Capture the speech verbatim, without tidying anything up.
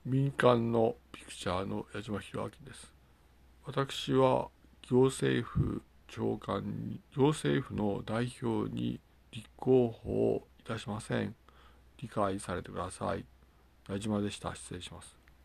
民間のピクチャーの矢島弘明です。私は行政府長官に、行政府の代表に立候補いたしません。理解されてください。矢島でした。失礼します。